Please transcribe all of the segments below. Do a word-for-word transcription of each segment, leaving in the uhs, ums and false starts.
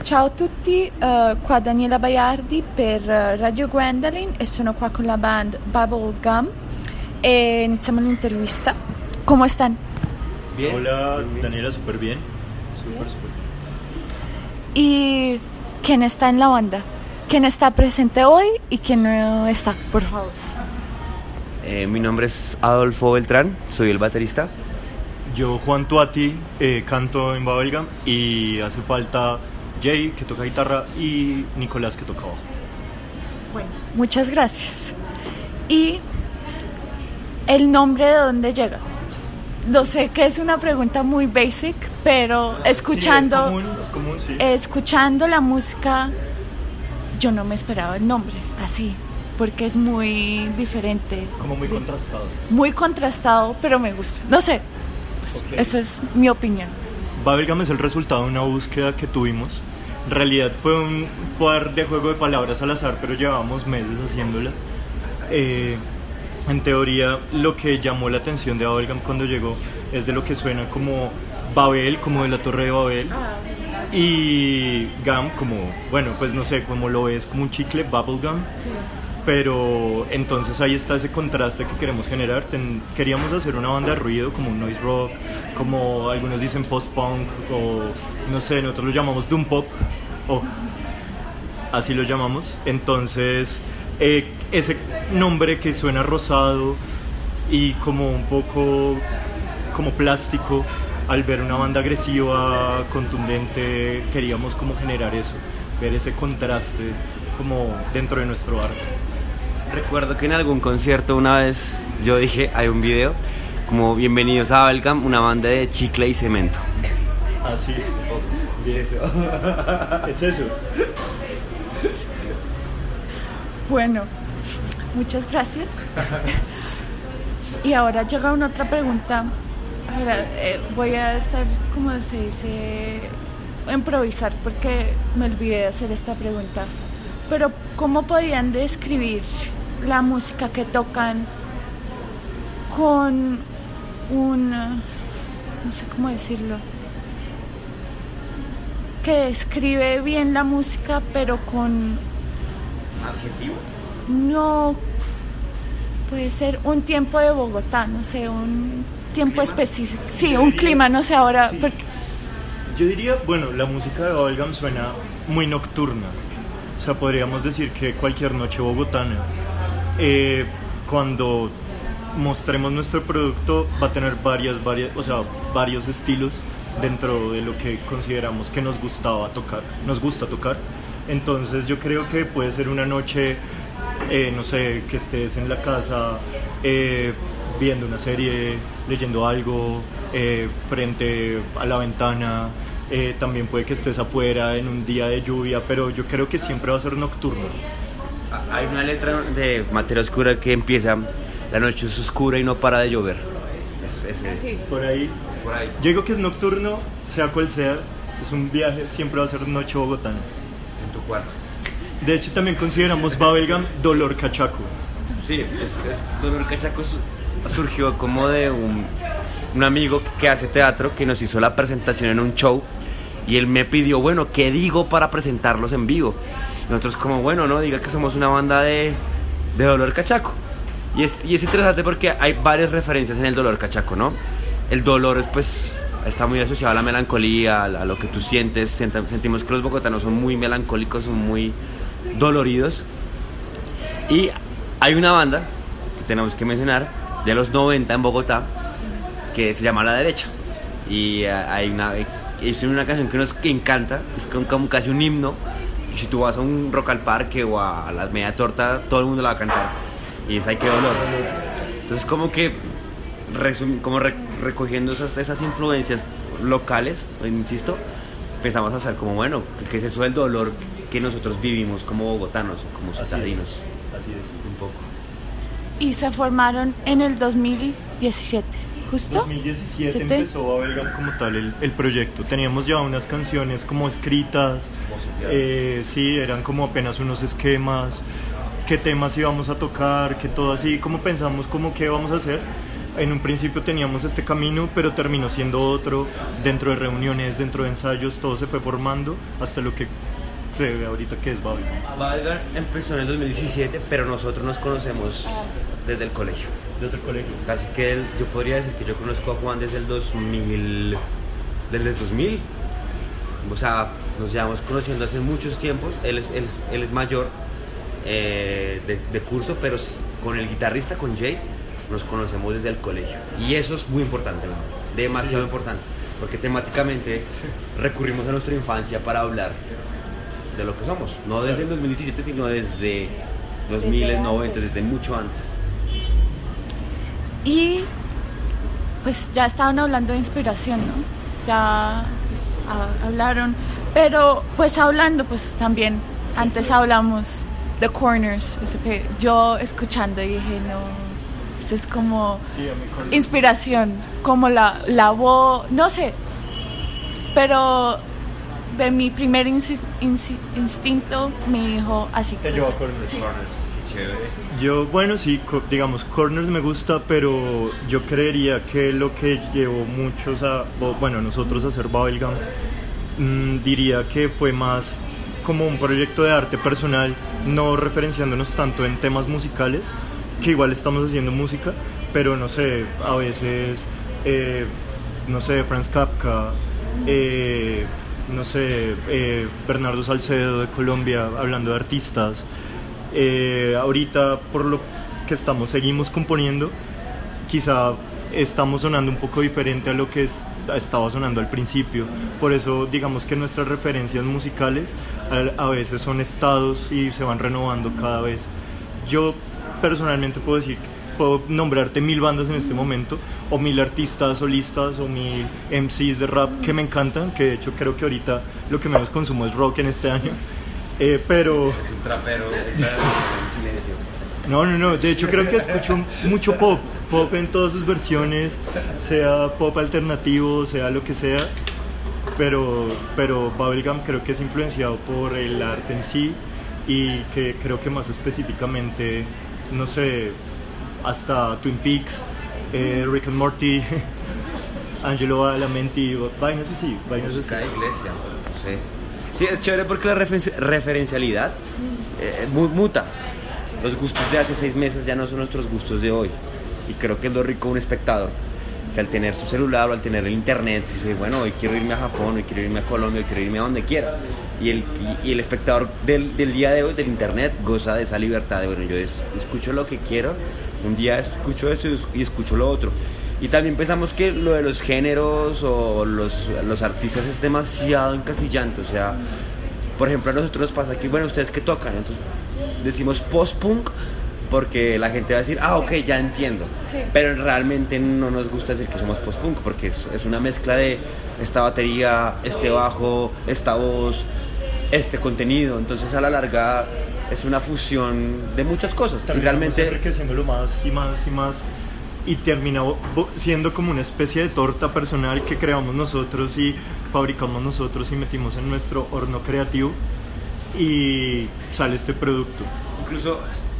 Ciao a tutti, uh, qua Daniela Baiardi per uh, Radio Gwendolyn e sono qua con la band Bubblegum e iniziamo l'intervista. ¿Cómo están? Bien. Hola Daniela, súper bien. Súper, súper bien. ¿Y quién está en la banda? ¿Quién está presente hoy y quién no está, por favor? Eh, mi nombre es Adolfo Beltrán, soy el baterista. Yo, Juan Tuati, eh, canto en Bubblegum y hace falta Jay, que toca guitarra, y Nicolás, que toca bajo. Bueno, muchas gracias. ¿Y el nombre de dónde llega? No sé que es una pregunta muy basic, pero escuchando, sí, es común, es común, sí. escuchando la música, yo no me esperaba el nombre así, porque es muy diferente. Como muy contrastado. Muy contrastado, pero me gusta. No sé, pues, okay. Esa es mi opinión. Bubblegum es el resultado de una búsqueda que tuvimos. En realidad fue un par de juego de palabras al azar, pero llevábamos meses haciéndola. Eh, en teoría, lo que llamó la atención de Bubblegum cuando llegó es de lo que suena como Babel, como de la Torre de Babel, y Gum como, bueno, pues no sé, como lo ves, como un chicle, Bubblegum. Sí. Pero entonces ahí está ese contraste que queremos generar. Ten, queríamos hacer una banda de ruido, como un noise rock, como algunos dicen post-punk, o no sé, nosotros lo llamamos doom pop, o así lo llamamos. Entonces eh, ese nombre que suena rosado y como un poco como plástico, al ver una banda agresiva, contundente, queríamos como generar eso, ver ese contraste como dentro de nuestro arte. Recuerdo que en algún concierto una vez yo dije, hay un video como bienvenidos a Bubblegum, una banda de chicle y cemento. Ah, sí. Oh, es eso. Es eso. Bueno, muchas gracias. Y ahora llega una otra pregunta. Ahora eh, voy a estar, como se dice, improvisar porque me olvidé de hacer esta pregunta. Pero ¿cómo podrían describir la música que tocan con un, no sé cómo decirlo, que describe bien la música pero con... ¿Adjetivo? No, puede ser un tiempo de Bogotá, no sé, un tiempo ¿Clima? específico. Sí, Yo un diría, clima, no sé ahora. Sí. Porque... Yo diría, bueno, la música de Bubblegum suena muy nocturna. O sea, podríamos decir que cualquier noche bogotana, eh, cuando mostremos nuestro producto, va a tener varias, varias, o sea, varios estilos dentro de lo que consideramos que nos gustaba tocar, nos gusta tocar. Entonces yo creo que puede ser una noche, eh, no sé, que estés en la casa eh, viendo una serie, leyendo algo, eh, frente a la ventana. Eh, también puede que estés afuera en un día de lluvia, pero yo creo que siempre va a ser nocturno. Hay una letra de Materia Oscura que empieza: la noche es oscura y no para de llover. Es, es, es, sí. por, ahí. es por ahí. Yo digo que es nocturno, sea cual sea, es un viaje, siempre va a ser noche bogotana. En tu cuarto. De hecho, también consideramos Bubblegum Dolor Cachaco. Sí, es, es, Dolor Cachaco surgió como de un, un amigo que hace teatro que nos hizo la presentación en un show. Y él me pidió, bueno, ¿qué digo para presentarlos en vivo? Nosotros como, bueno, no, diga que somos una banda de, de Dolor Cachaco. Y es, y es interesante porque hay varias referencias en el Dolor Cachaco, ¿no? El dolor es, pues, está muy asociado a la melancolía, a, a lo que tú sientes. Sent- sentimos que los bogotanos son muy melancólicos, son muy doloridos. Y hay una banda que tenemos que mencionar, de los noventa en Bogotá, que se llama La Derecha. Y uh, hay una... es una canción que nos encanta, que es como casi un himno, y si tú vas a un Rock al Parque o a la Media Torta, todo el mundo la va a cantar, y es Ay qué dolor. Entonces como que resum, como re, recogiendo esas, esas influencias locales, insisto, empezamos a hacer como, bueno, ¿qué es eso del dolor que nosotros vivimos como bogotanos, como citadinos? Así es, así es, un poco. Y se formaron en el dos mil diecisiete. ¿Justo? dos mil diecisiete ¿Siete? Empezó Bubblegum como tal el, el proyecto. Teníamos ya unas canciones como escritas, eh, sí, eran como apenas unos esquemas, qué temas íbamos a tocar, que todo así, como pensamos como qué vamos a hacer. en un principio teníamos este camino, pero terminó siendo otro, dentro de reuniones, dentro de ensayos, todo se fue formando hasta lo que se ve ahorita que es Bubblegum. Bubblegum empezó en el dos mil diecisiete, pero nosotros nos conocemos desde el colegio. Desde el colegio. Casi que el, yo podría decir que yo conozco a Juan desde el dos mil, desde el dos mil. O sea, nos llevamos conociendo hace muchos tiempos. Él es, él, él es mayor eh, de, de curso, pero con el guitarrista, con Jay, nos conocemos desde el colegio. Y eso es muy importante, la verdad, demasiado sí. importante, porque temáticamente recurrimos a nuestra infancia para hablar de lo que somos. No desde el dos mil diecisiete, sino desde dos mil noventa, desde mucho antes. Y pues ya estaban hablando de inspiración, ¿no? Ya pues, a, hablaron, pero pues hablando, pues también antes hablamos de Corners, eso que yo escuchando dije, no, esto es como sí, inspiración, como la, la voz, no sé, pero de mi primer insi- insi- instinto me dijo así. Te llevó a Corners. Sí. Chévere. Yo, bueno, sí, co- digamos, Corners me gusta, pero yo creería que lo que llevó muchos a, bueno, nosotros a hacer Bubblegum, mmm, diría que fue más como un proyecto de arte personal, no referenciándonos tanto en temas musicales, que igual estamos haciendo música, pero no sé, a veces, eh, no sé, Franz Kafka, eh, no sé, eh, Bernardo Salcedo de Colombia, hablando de artistas. Eh, ahorita, por lo que estamos, seguimos componiendo, quizá estamos sonando un poco diferente a lo que es, estaba sonando al principio. Por eso, digamos que nuestras referencias musicales a, a veces son estados y se van renovando cada vez. Yo personalmente puedo decir, puedo nombrarte mil bandas en este momento, o mil artistas solistas, o mil M Cs de rap que me encantan, que de hecho creo que ahorita lo que menos consumo es rock en este año. Eh, pero... Es un trapero, está en silencio. No, no, no, de hecho creo que escucho mucho pop, pop en todas sus versiones, sea pop alternativo, sea lo que sea, pero, pero Bubblegum creo que es influenciado por el arte en sí, y que creo que más específicamente, no sé, hasta Twin Peaks, eh, Rick and Morty, Angelo Badalamenti, vainas así, vainas así. Música de iglesia, no sé. Sí, es chévere porque la refer- referencialidad eh, muta. Los gustos de hace seis meses ya no son nuestros gustos de hoy. Y creo que es lo rico de un espectador, que al tener su celular o al tener el internet, dice, bueno, hoy quiero irme a Japón, hoy quiero irme a Colombia, hoy quiero irme a donde quiera. Y el, y, y el espectador del, del día de hoy, del internet, goza de esa libertad de, bueno, yo es, escucho lo que quiero, un día escucho esto y escucho lo otro. Y también pensamos que lo de los géneros o los, los artistas es demasiado encasillante. O sea, por ejemplo, a nosotros nos pasa que, bueno, ¿ustedes qué tocan? Entonces decimos post-punk porque la gente va a decir, ah, ok, ya entiendo. Sí. Pero realmente no nos gusta decir que somos post-punk porque es, es una mezcla de esta batería, este bajo, esta voz, este contenido. Entonces a la larga es una fusión de muchas cosas. También y realmente enriqueciéndolo más y más y más. Y termina siendo como una especie de torta personal que creamos nosotros y fabricamos nosotros y metimos en nuestro horno creativo y sale este producto. Incluso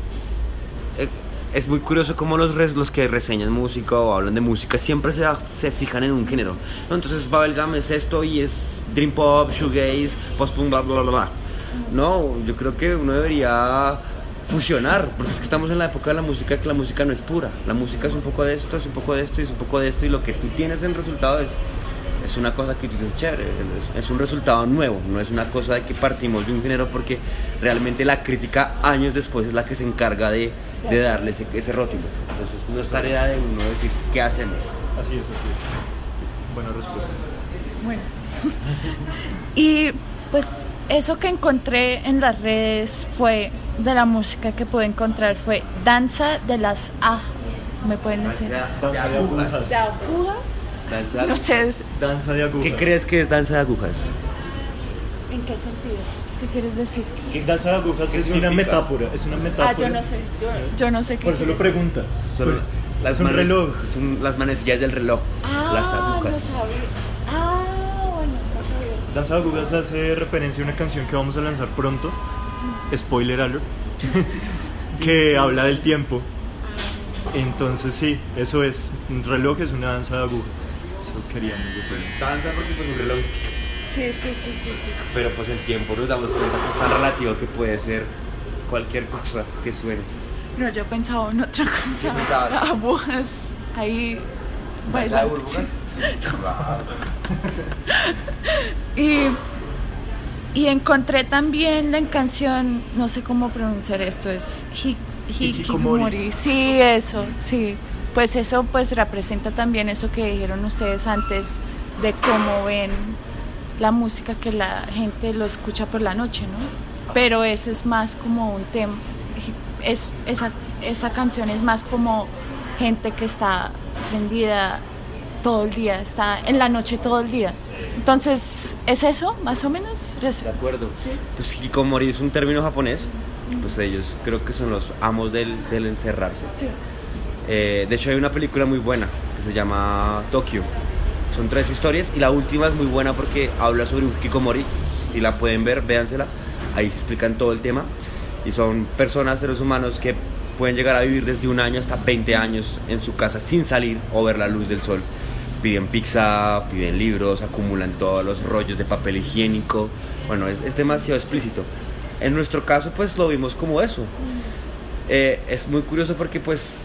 eh, es muy curioso cómo los, res, los que reseñan música o hablan de música siempre se, se fijan en un género, ¿no? Entonces Bubblegum es esto y es dream pop, shoegaze, post-punk, bla bla bla bla. No, yo creo que uno debería fusionar, porque es que estamos en la época de la música, que la música no es pura, la música es un poco de esto, es un poco de esto y es un poco de esto, y lo que tú tienes en resultado es, es una cosa que tú dices chévere, es, es un resultado nuevo, no es una cosa de que partimos de un género, porque realmente la crítica años después es la que se encarga de, de darle ese, ese rótulo. Entonces no es tarea de uno decir qué hacemos. Así es, así es. Buena respuesta. Bueno. Y pues eso que encontré en las redes fue de la música que pude encontrar fue Danza de las A. ¿Me pueden decir? Danza de agujas. ¿De agujas? Danza de No sé. es- Danza de agujas. ¿Qué crees que es danza de agujas? ¿En qué sentido? ¿Qué quieres decir? Danza de agujas ¿Qué es una significa? metáfora, es una metáfora. Ah, yo no sé. Yo, yo no sé qué Por eso lo quieres pregunta. Son Pues, las es un manes- reloj. Son las manecillas del reloj, Ah, las agujas. no sabía. Ah, bueno, no sabía. Danza de agujas hace referencia a una canción que vamos a lanzar pronto, spoiler alert, que habla del tiempo. Entonces sí, eso es, un reloj es una danza de agujas, eso queríamos decir. Pues danza porque pues un reloj, Sí, sí, sí, sí, sí. pero pues el tiempo nos damos cuenta que es tan relativo que puede ser cualquier cosa que suene. No, yo pensaba en otra cosa. ¿Qué pensabas? Agujas ahí ¿Danza de bailando. burbujas? Y, y encontré también la canción, no sé cómo pronunciar esto, es hi, Hikikomori. Hikikomori. Sí, eso, sí. Pues eso pues representa también eso que dijeron ustedes antes de cómo ven la música, que la gente lo escucha por la noche, ¿no? Pero eso es más como un tema, es, esa, esa canción es más como gente que está prendida todo el día, está en la noche todo el día. Entonces, ¿es eso, más o menos? De acuerdo. Sí. Pues hikikomori es un término japonés, pues ellos creo que son los amos del, del encerrarse. Sí. Eh, de hecho hay una película muy buena que se llama Tokyo. Son tres historias y la última es muy buena porque habla sobre un hikikomori. Si la pueden ver, véansela. Ahí se explican todo el tema. Y son personas, seres humanos que pueden llegar a vivir desde un año hasta veinte años en su casa sin salir o ver la luz del sol. Piden pizza, piden libros, acumulan todos los rollos de papel higiénico. Bueno, es, es demasiado explícito. En nuestro caso, pues lo vimos como eso. Eh, es muy curioso porque, pues,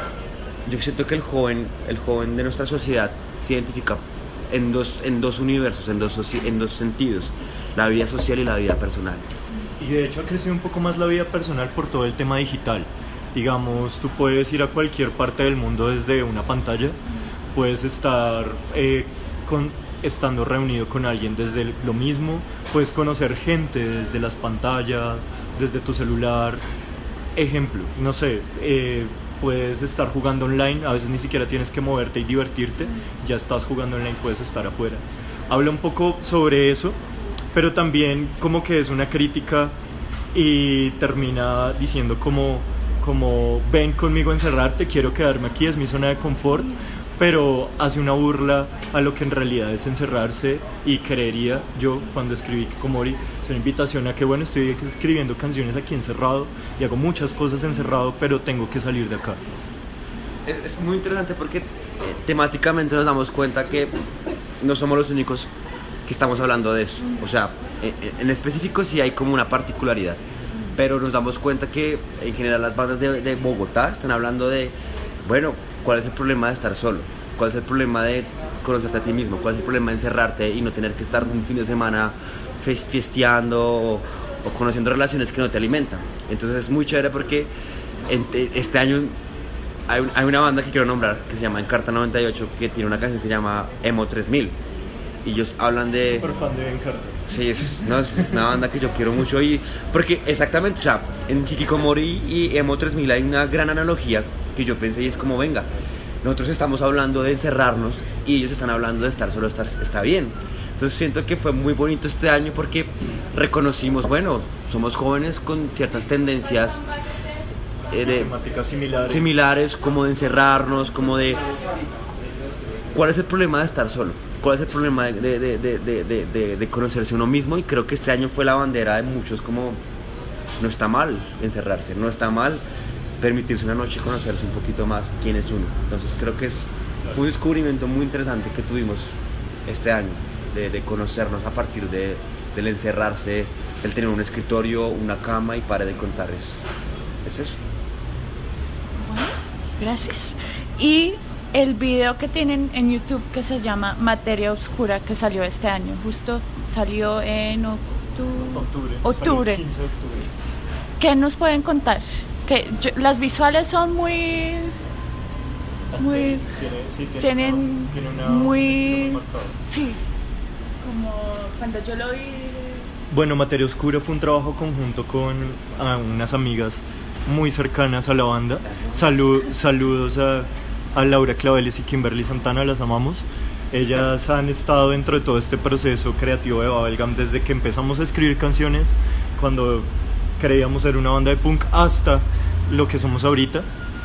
yo siento que el joven, el joven de nuestra sociedad se identifica en dos, en dos universos, en dos, soci- en dos sentidos, la vida social y la vida personal. Y de hecho ha crecido un poco más la vida personal por todo el tema digital. Digamos, tú puedes ir a cualquier parte del mundo desde una pantalla, puedes estar eh, con, estando reunido con alguien desde el- lo mismo, puedes conocer gente desde las pantallas, desde tu celular. Ejemplo, no sé, eh, puedes estar jugando online, a veces ni siquiera tienes que moverte y divertirte, ya estás jugando online, puedes estar afuera. Habla un poco sobre eso, pero también como que es una crítica y termina diciendo como, como ven conmigo a encerrarte, quiero quedarme aquí, es mi zona de confort, pero hace una burla a lo que en realidad es encerrarse. Y creería yo, cuando escribí Hikikomori, es una invitación a que bueno, estoy escribiendo canciones aquí encerrado y hago muchas cosas encerrado, pero tengo que salir de acá. Es, es muy interesante porque eh, temáticamente nos damos cuenta que no somos los únicos que estamos hablando de eso. O sea, en, en específico sí hay como una particularidad, pero nos damos cuenta que en general las bandas de, de Bogotá están hablando de, bueno, ¿cuál es el problema de estar solo? ¿Cuál es el problema de conocerte a ti mismo? ¿Cuál es el problema de encerrarte y no tener que estar un fin de semana fes- fiesteando o, o conociendo relaciones que no te alimentan? Entonces es muy chévere porque en, este año hay, un, hay una banda que quiero nombrar que se llama Encarta noventa y ocho, que tiene una canción que se llama Emo tres mil y ellos hablan de... Por fan de Encarta. Sí, es, no, es una banda que yo quiero mucho y porque exactamente, o sea, en Hikikomori y Emo tres mil hay una gran analogía que yo pensé y es como, venga, nosotros estamos hablando de encerrarnos y ellos están hablando de estar solo, estar, está bien. Entonces siento que fue muy bonito este año porque reconocimos, bueno, somos jóvenes con ciertas tendencias eh, de, Temáticas similares. similares, como de encerrarnos, como de... ¿Cuál es el problema de estar solo? ¿Cuál es el problema de, de, de, de, de, de, de conocerse uno mismo? Y creo que este año fue la bandera de muchos como, no está mal encerrarse, no está mal permitirse una noche conocerse un poquito más quién es uno. Entonces creo que es, fue un descubrimiento muy interesante que tuvimos este año, de, de conocernos a partir de, del encerrarse, el tener un escritorio, una cama y pare de contar. Es, es eso. Bueno, gracias. Y el video que tienen en YouTube que se llama Materia Oscura, que salió este año, justo salió en octu- Octubre. octubre. Salió el quince de octubre. ¿Qué nos pueden contar? Que yo- las visuales son muy... Muy... Tiene, sí, tiene tienen una- tiene una- muy... un marcado. Sí, como cuando yo lo vi... Bueno, Materia Oscura fue un trabajo conjunto con ah, unas amigas muy cercanas a la banda. Salu- saludos a, a Laura Claveles y Kimberly Santana, las amamos. Ellas han estado dentro de todo este proceso creativo de Bubblegum desde que empezamos a escribir canciones, cuando creíamos ser una banda de punk, hasta lo que somos ahorita.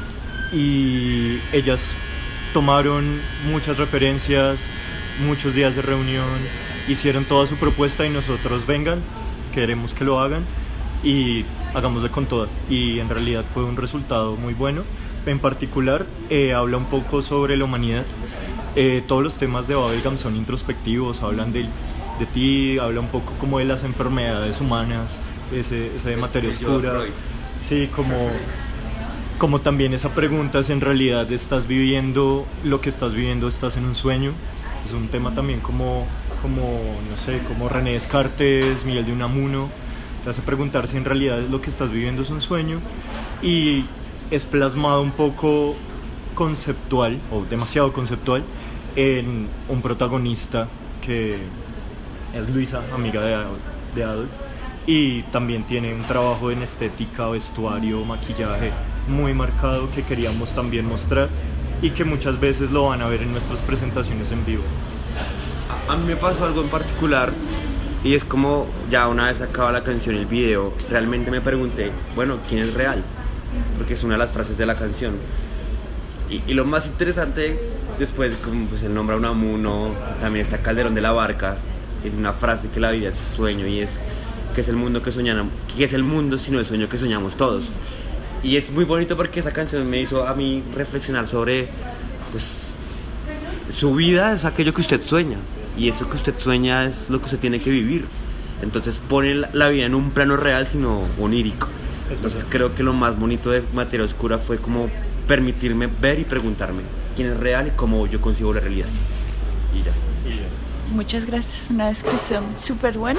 Y ellas tomaron muchas referencias, muchos días de reunión, hicieron toda su propuesta y nosotros, vengan, queremos que lo hagan y hagámosle con todo. Y en realidad fue un resultado muy bueno. en particular eh, habla un poco sobre la humanidad. Eh, todos los temas de Bubblegum son introspectivos, hablan de, de ti, habla un poco como de las enfermedades humanas, ese, ese de materia oscura. Sí, como, como también esa pregunta es en realidad estás viviendo lo que estás viviendo, estás en un sueño. Es un tema también como, como no sé, como René Descartes, Miguel de Unamuno, te hace preguntar si en realidad lo que estás viviendo es un sueño, y es plasmado un poco conceptual, o demasiado conceptual, en un protagonista que es Luisa, amiga de Adolf, de Adolf, y también tiene un trabajo en estética, vestuario, maquillaje muy marcado que queríamos también mostrar y que muchas veces lo van a ver en nuestras presentaciones en vivo. A mí me pasó algo en particular, y es como ya una vez acaba la canción, el video, realmente me pregunté, bueno, ¿quién es real? Porque es una de las frases de la canción. Y, y lo más interesante, después, como pues él nombra a Unamuno, también está Calderón de la Barca, que es una frase que la vida es sueño, y es que es el mundo que soñamos, que es el mundo sino el sueño que soñamos todos. Y es muy bonito porque esa canción me hizo a mí reflexionar sobre, pues, su vida es aquello que usted sueña, y eso que usted sueña es lo que usted tiene que vivir. Entonces pone la vida en un plano real sino onírico. Entonces creo que lo más bonito de Materia Oscura fue como permitirme ver y preguntarme quién es real y cómo yo concibo la realidad. Y ya. Y ya. Muchas gracias, una descripción súper buena.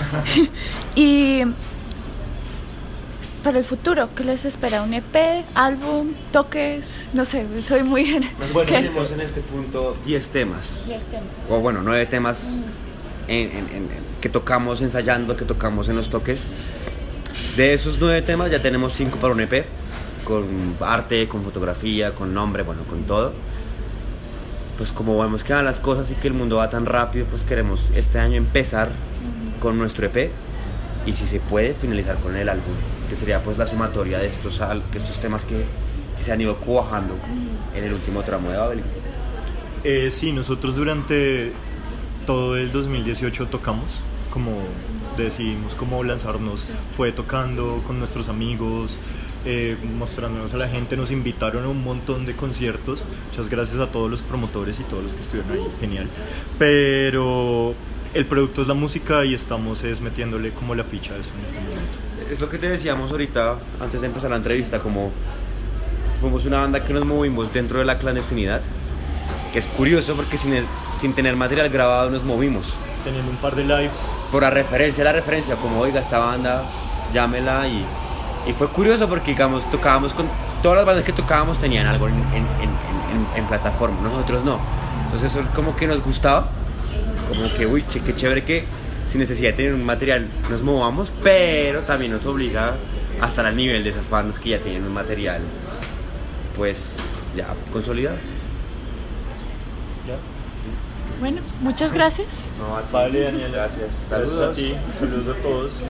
Y para el futuro, ¿qué les espera? ¿Un E P, álbum, toques? No sé, soy muy... Bueno, tenemos en este punto diez temas. diez temas. O bueno, nueve temas en, en, en, en, que tocamos ensayando, que tocamos en los toques. De esos nueve temas ya tenemos cinco para un E P, con arte, con fotografía, con nombre, bueno, con todo. Pues como vemos que van las cosas y que el mundo va tan rápido, pues queremos este año empezar con nuestro E P y si se puede finalizar con el álbum, que sería pues la sumatoria de estos, de estos temas que, que se han ido cuajando en el último tramo de Babel. Eh, sí, nosotros durante todo el dos mil dieciocho tocamos, como decidimos cómo lanzarnos, fue tocando con nuestros amigos, eh, mostrándonos a la gente, nos invitaron a un montón de conciertos, muchas gracias a todos los promotores y todos los que estuvieron ahí, genial, pero el producto es la música y estamos es metiéndole como la ficha a eso en este momento. Es lo que te decíamos ahorita antes de empezar la entrevista, como fuimos una banda que nos movimos dentro de la clandestinidad, que es curioso porque sin, el, sin tener material grabado nos movimos. Teniendo un par de lives. Por la referencia, la referencia, como oiga esta banda, llámela, y, y fue curioso porque digamos, tocábamos con, todas las bandas que tocábamos tenían algo en, en, en, en, en plataforma, nosotros no. Entonces eso como que nos gustaba, como que uy, che, qué chévere que sin necesidad de tener un material nos movamos, pero también nos obliga a estar al nivel de esas bandas que ya tienen un material pues ya consolidado. ¿Ya? Bueno, muchas gracias. No, a ti. Vale, Daniela. Gracias. Saludos a ti, saludos a todos.